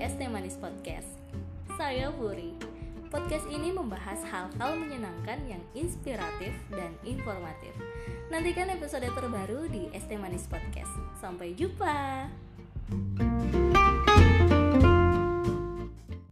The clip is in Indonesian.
ST Manis Podcast. Saya Puri. Podcast ini membahas hal-hal menyenangkan yang inspiratif dan informatif. Nantikan episode terbaru di ST Manis Podcast. Sampai jumpa.